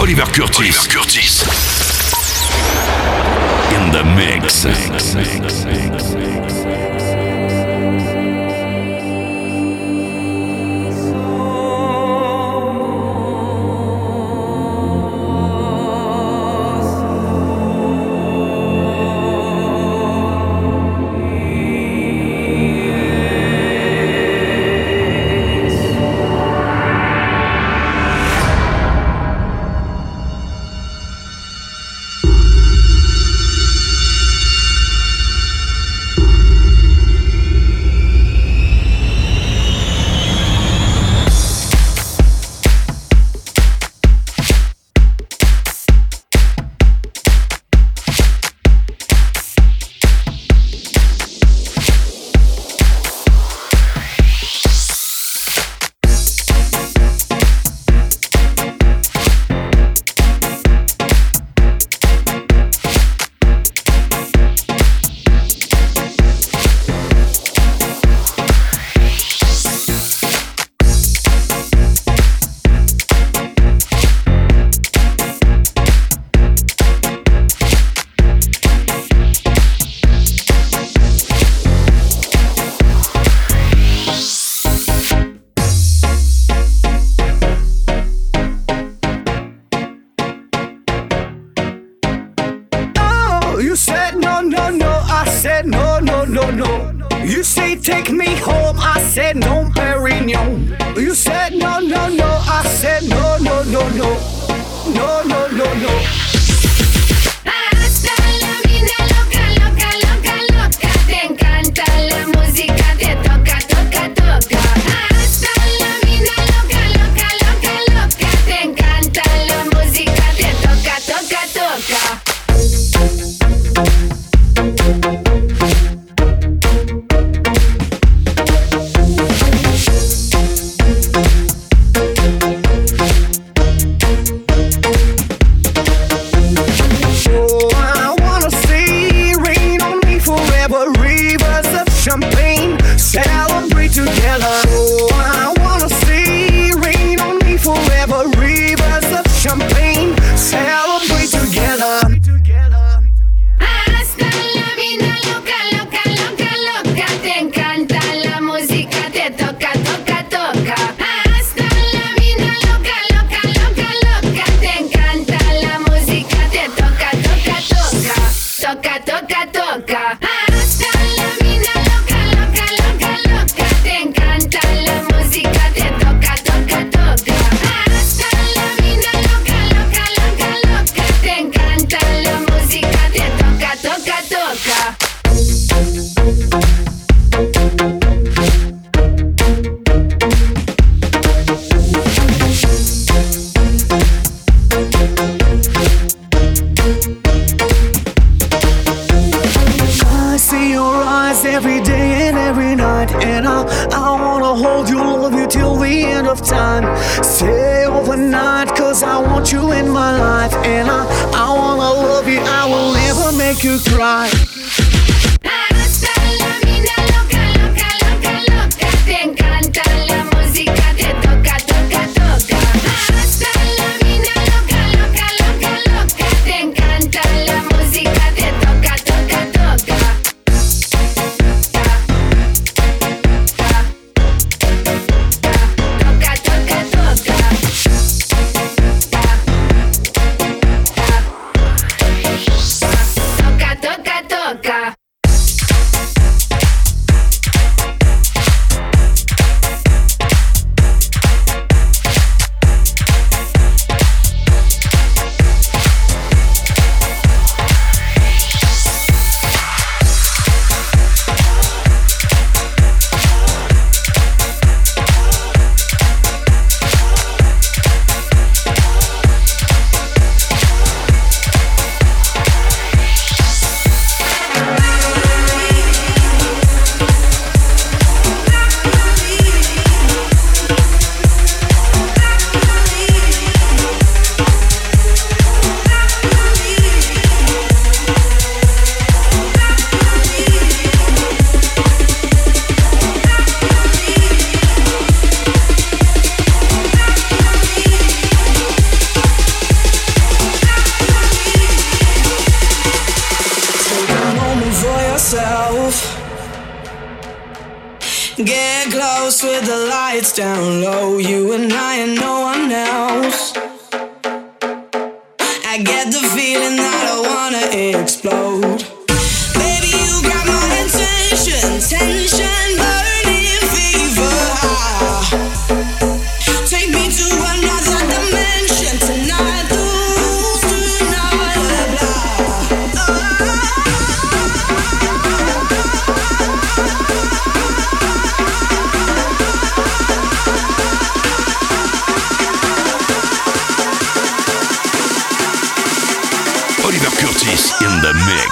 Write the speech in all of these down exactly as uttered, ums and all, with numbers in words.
Oliver Curtis. Oliver Curtis. In the mix. Toca, toca, Get close with the lights down low. You and I and no one else. I get the feeling that I wanna explode. Baby, you got my attention, tension, burning fever. Take me to another dimension tonight. The rules do not apply. Oliver Curtis in the mix.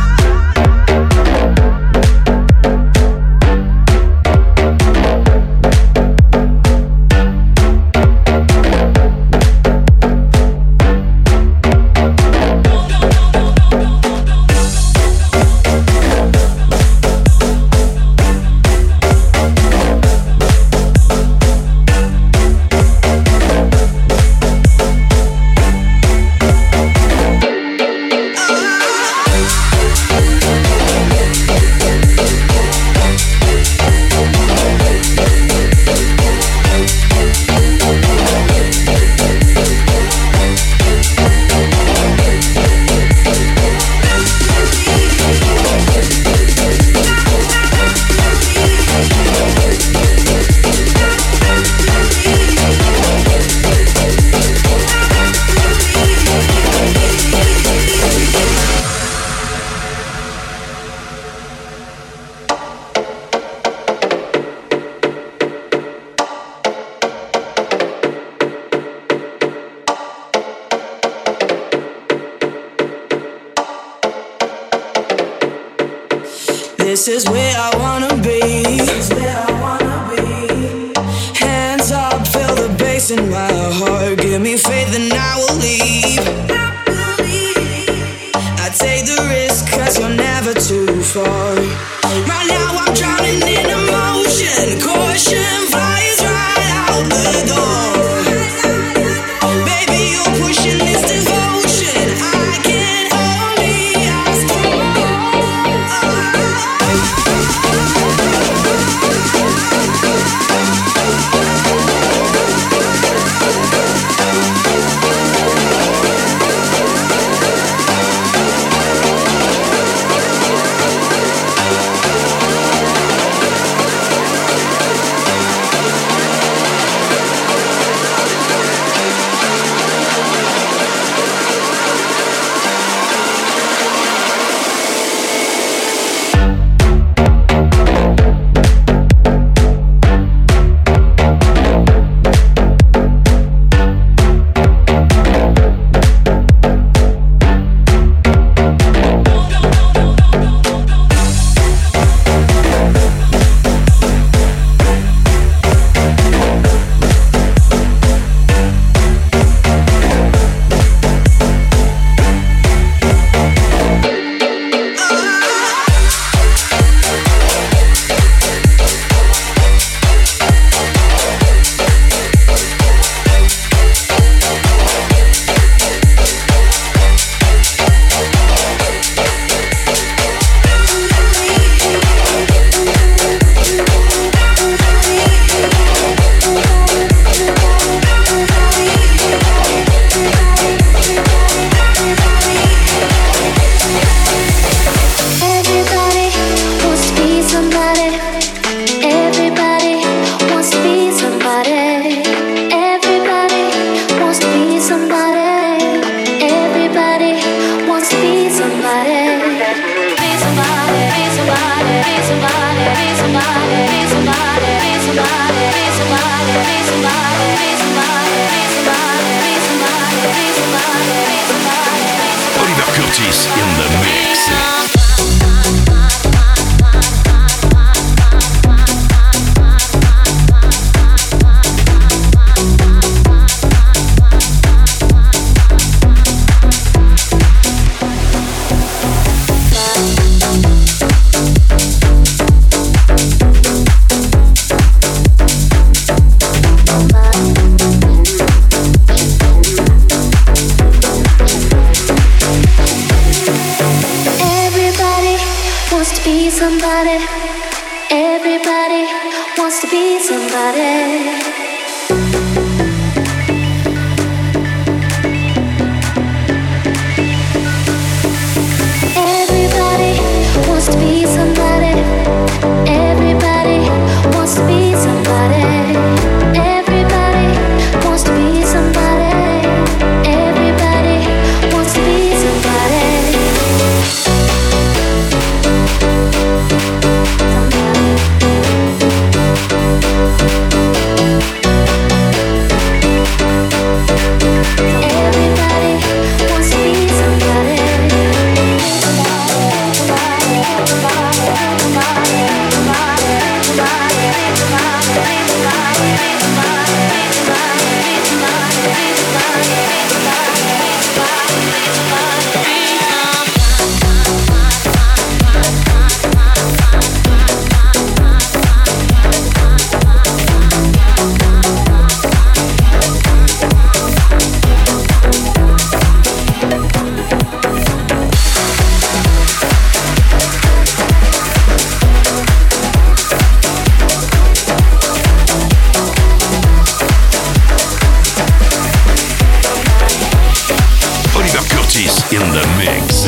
This is where I wanna be. Hands up, feel the bass in my heart. Give me faith and I will leave. I take the risk cause you're never too far. Right now I'm drowning in emotion. Caution flies right out the door. Baby, you're pushing this devotion. I can only ask for Oliver Curtis in the mix. Somebody, everybody wants to be somebody. Everybody wants to be somebody. Everybody wants to be somebody. Everybody wants to be somebody. Everybody wants to be somebody. In the mix.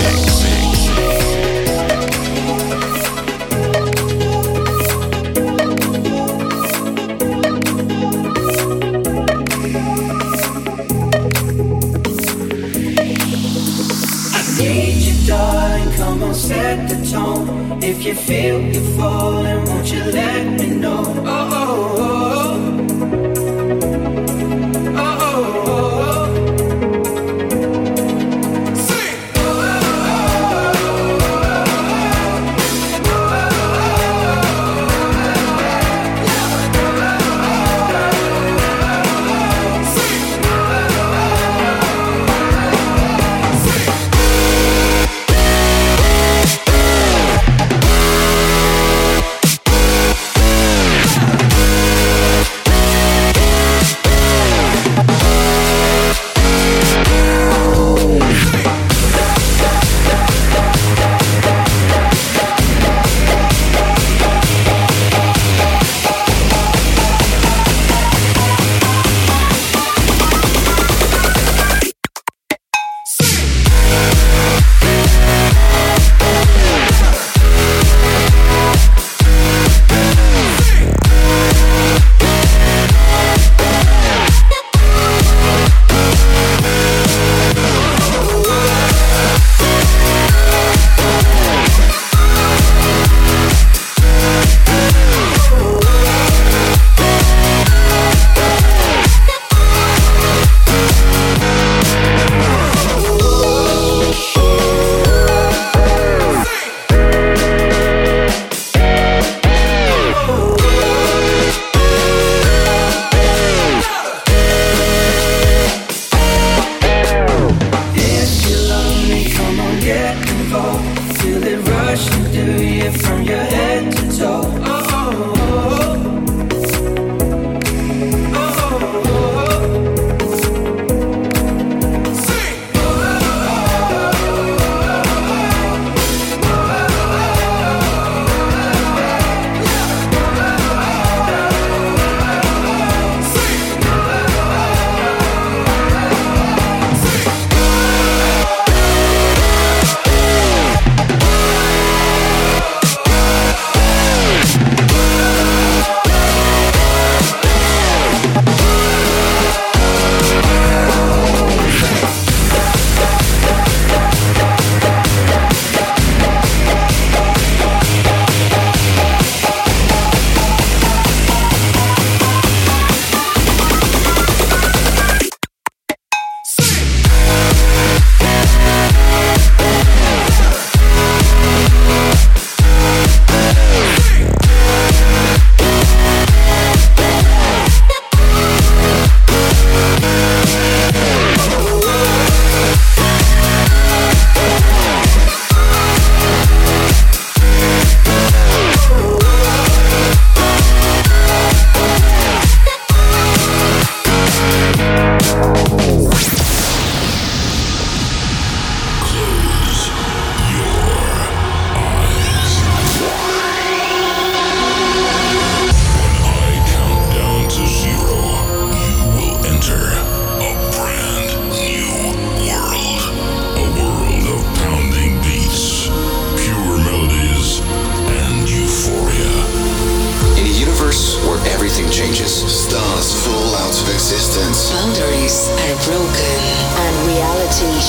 I need you, darling, come on, set the tone. If you feel you're falling, won't you let me know? Oh, oh, oh.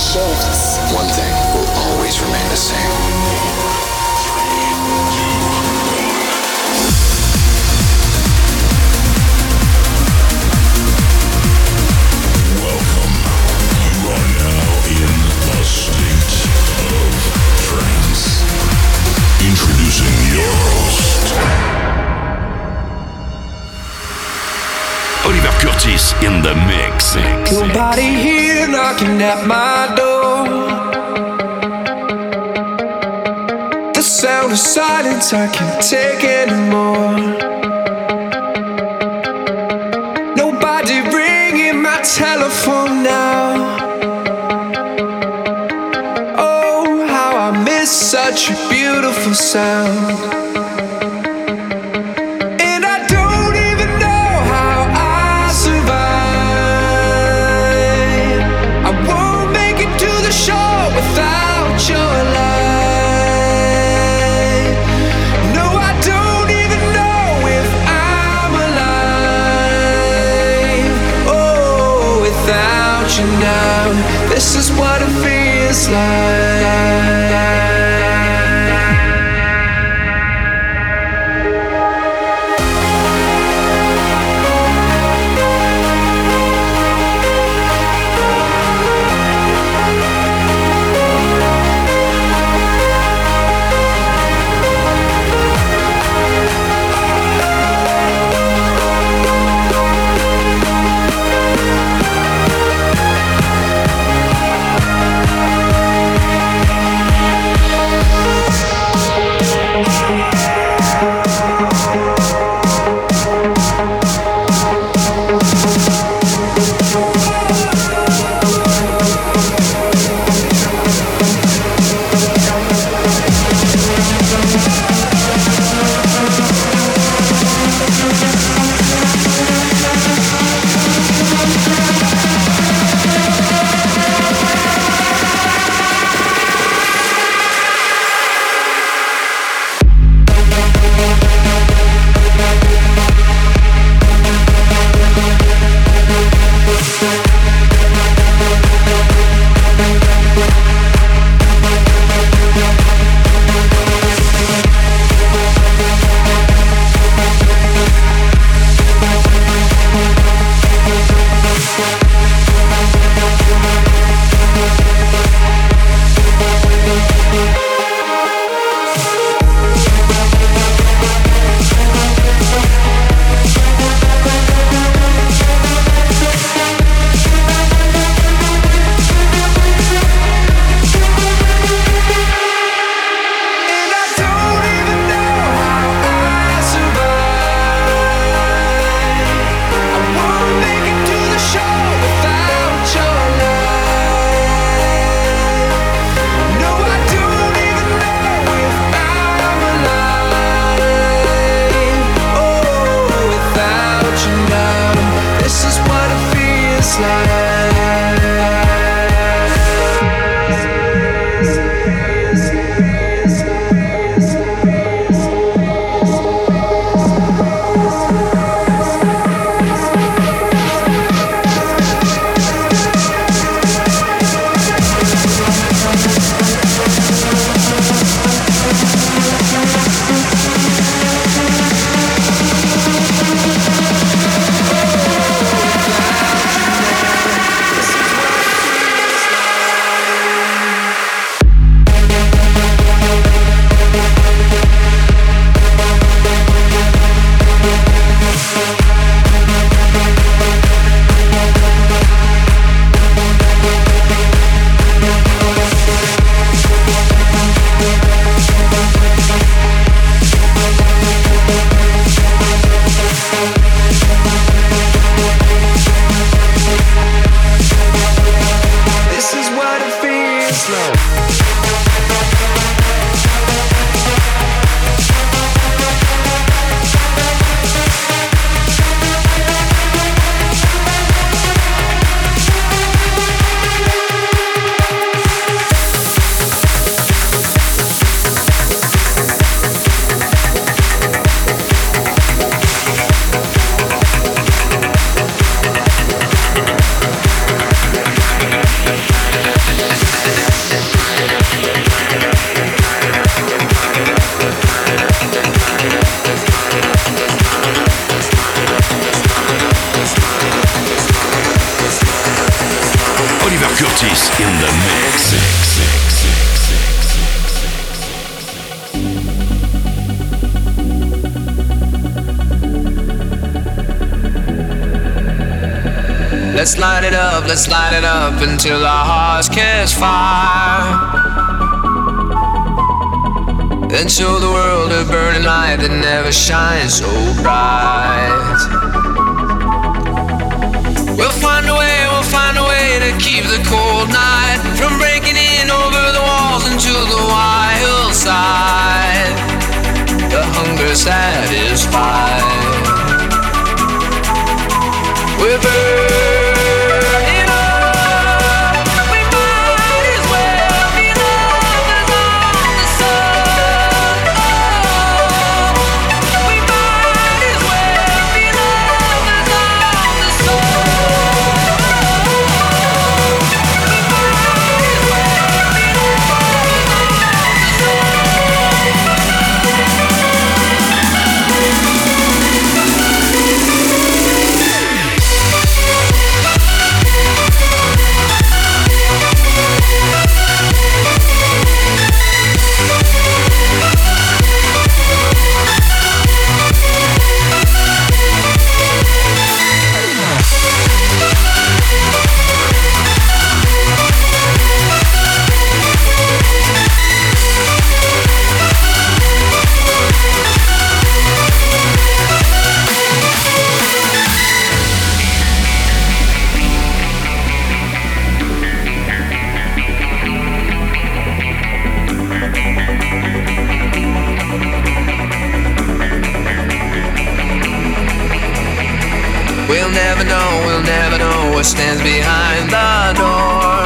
shifts. One thing will always remain the same. Introducing your host, Oliver Curtis in the mix. Nobody here knocking at my door. The sound of silence I can't take anymore. Nobody ringing my telephone now. Such a beautiful sound. And I don't even know how I survive. I won't make it to the shore without your light. No, I don't even know if I'm alive. Oh, without you now, this is what it feels like. Curtis in the mix. Let's light it up, let's light it up until our hearts catch fire. Then show the world a burning light that never shines so bright. We'll find a way, we'll find a way to keep the cold night from breaking in over the walls into the wild side. The hunger satisfied. We're burning up. We might as well be lovers on the sun. Oh, we might as well be lovers on the sun. We might as well be lovers We'll never know, we'll never know what stands behind the door.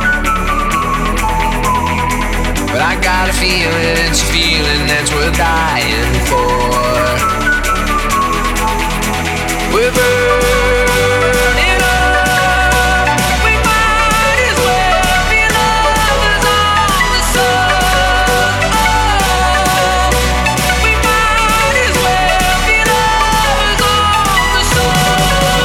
But I got a feeling, it's a feeling that's worth dying for. We're burning up. We might as well be lovers on the sun. Oh, we might as well be lovers on the sun.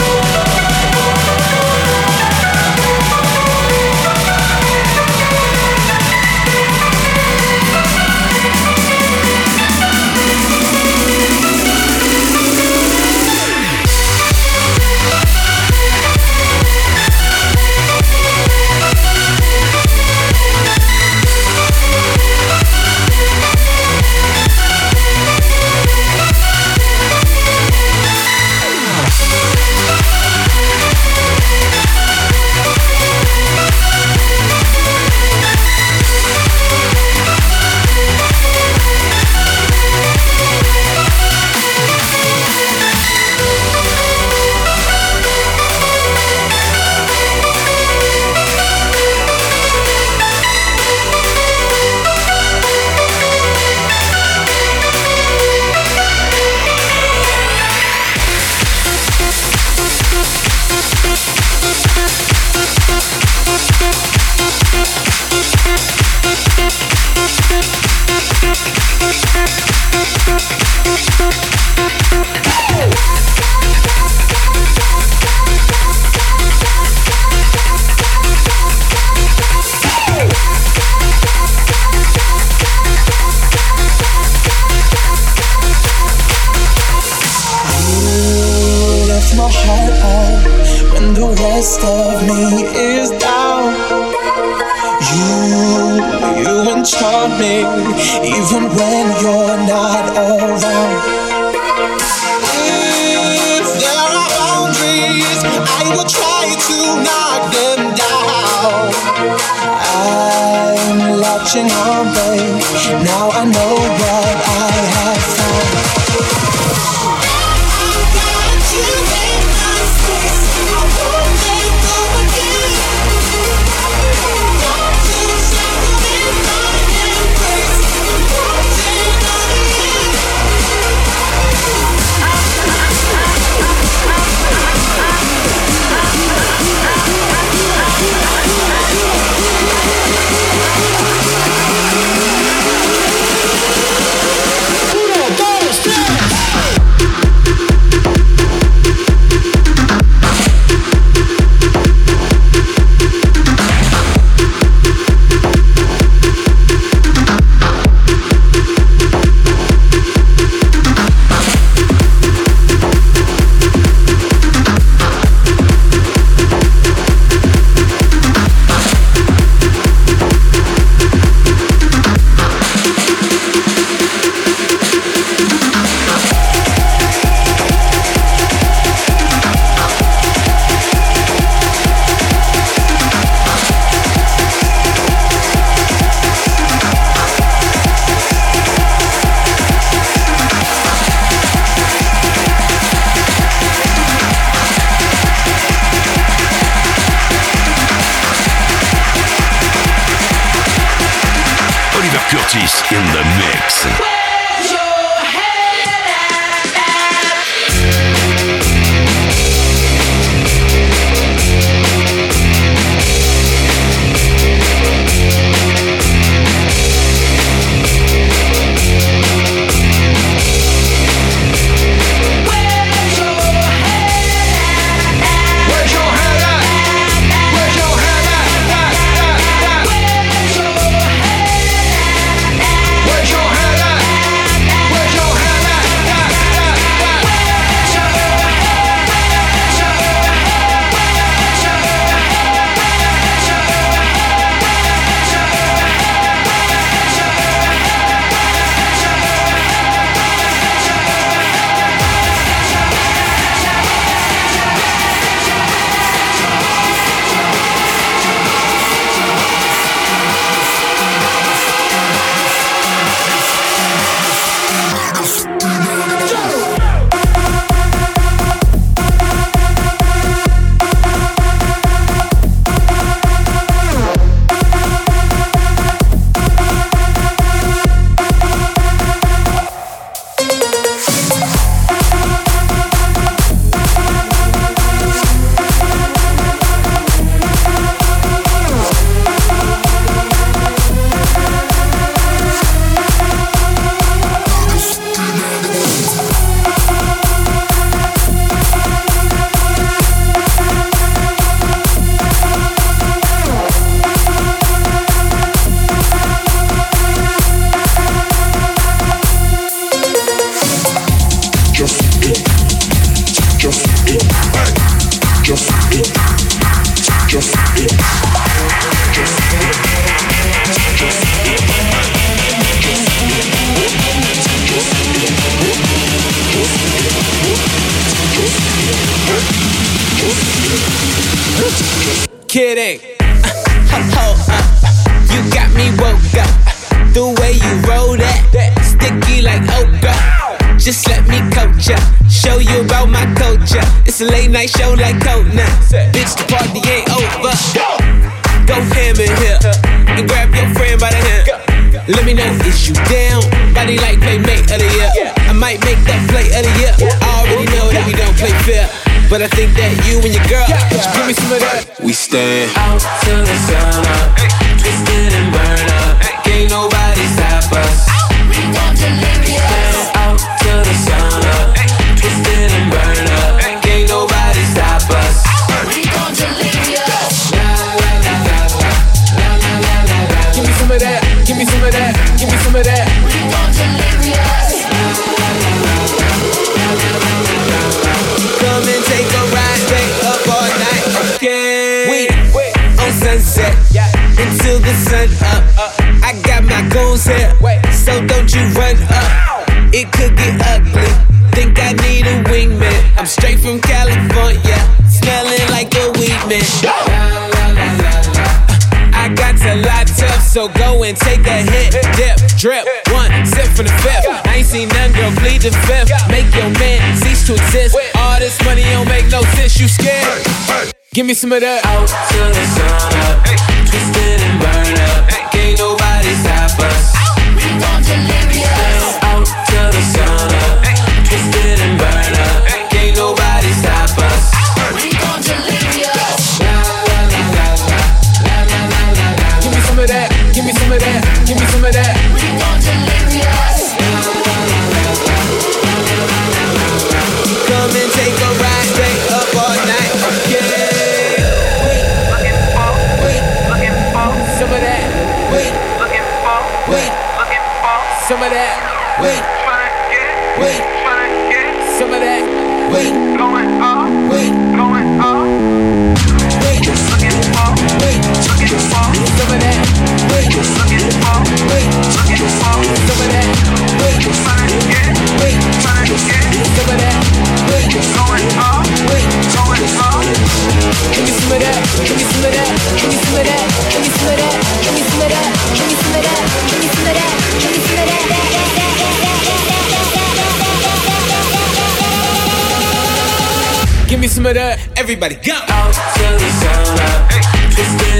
Even when you're not around. If there are boundaries, I will try to knock them down. I'm latching on, babe. Now I know what I have found. We'll Curtis in the mix. Kidding. Hold up. You got me woke up. The way you roll that, sticky like okra. Just let me coach ya, show you about my culture. It's a late night show like Conan. Bitch, the party ain't over. Go ham in here and grab your friend by the hand. Let me know is you down. Body like playmate of the year. I might make that play of the year. I already know that we don't play fair, but I think that you and your girl, give me some of that. We stand out till the sun up, twisted and burn up. Can't nobody stop us. We gon' deliver us. Out till the sun up, twisted and burn up. Can't nobody stop us. We gon' deliver us. La la la la la la la la la. Give me some of that. Give me some of that. Give me some of that. We gon' deliver us. Come and take a ride, stay up all night, okay? We on sunset until the sun up. I got my goons here, so don't you run up. It could get ugly. Think I need a wingman. I'm straight from California, smelling like a weed man. I got to lot tough, so go and take a hit, dip, drip, one sip from the fifth. I ain't seen none, girl, plead the fifth. Make your man cease to exist. All this money don't make no sense, you scared? Give me some of that. Out till the sun up, twisted and burn up. Can't nobody stop us. We gon' deliver us. Out till the sun up, twisted and burn up. Can't nobody stop us. We gon' deliver us. La la la la la la la la la. Give me some of that. Give me some of that. Give me some of that. We gon' deliver us. Come and take a ride, stay up all night, okay? Some of that, wait, looking for, wait, looking for, some of that, wait, tryna get, wait, tryna get, some of that, wait, going up, wait, going up, wait, looking for, wait, looking for, some of that, wait, looking for, wait, looking for, some of that, wait, tryna get, wait, tryna get, some of that, wait, going up, wait, going up. Give me some of that, give me some of that, give me some of that, give me some of that, give me some of that, give me some of that, give me some of that, give me some of that. Give me some of that, everybody go. Out till the sun up, twisted